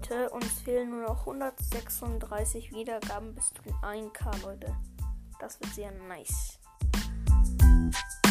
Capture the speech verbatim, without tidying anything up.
Leute. Uns fehlen nur noch hundertsechsunddreißig Wiedergaben bis zu ein K, Leute. Das wird sehr nice.